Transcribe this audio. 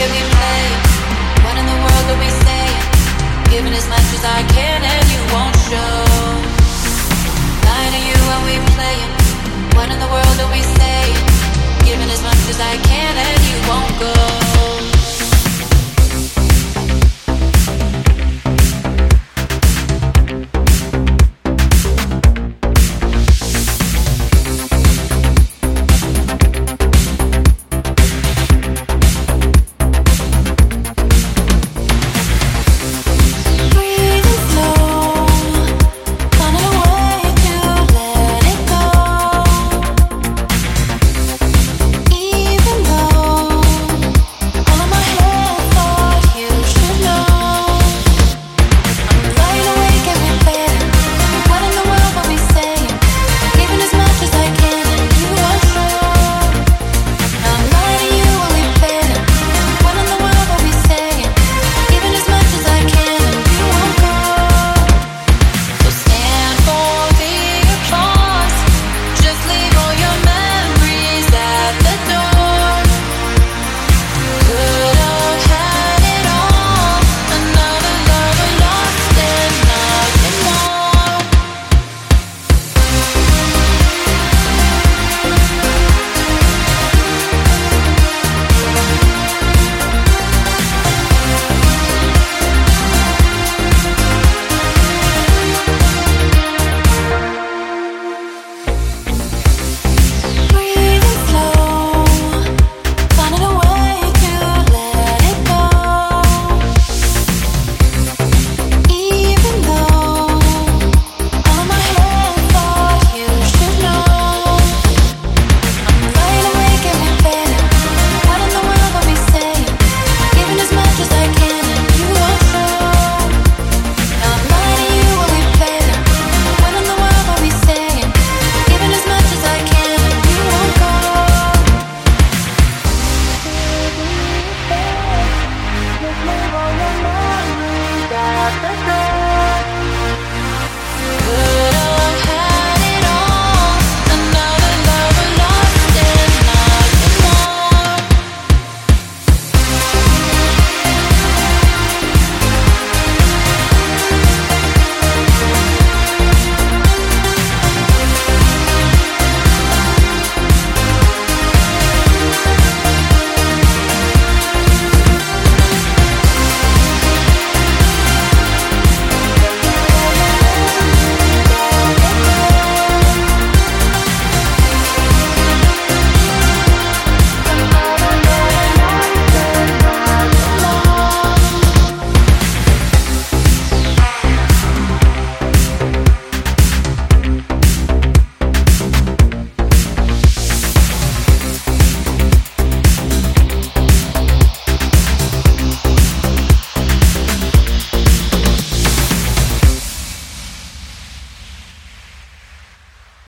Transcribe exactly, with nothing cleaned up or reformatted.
we play? What in the world are we saying? Giving as much as I can and you won't show. Lying to you when we playing. What in the world are we saying? Giving as much